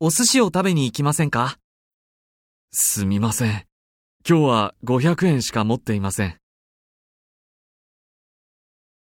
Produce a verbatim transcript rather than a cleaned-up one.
お寿司を食べに行きませんか？ すみません。今日はごひゃくえんしか持っていません。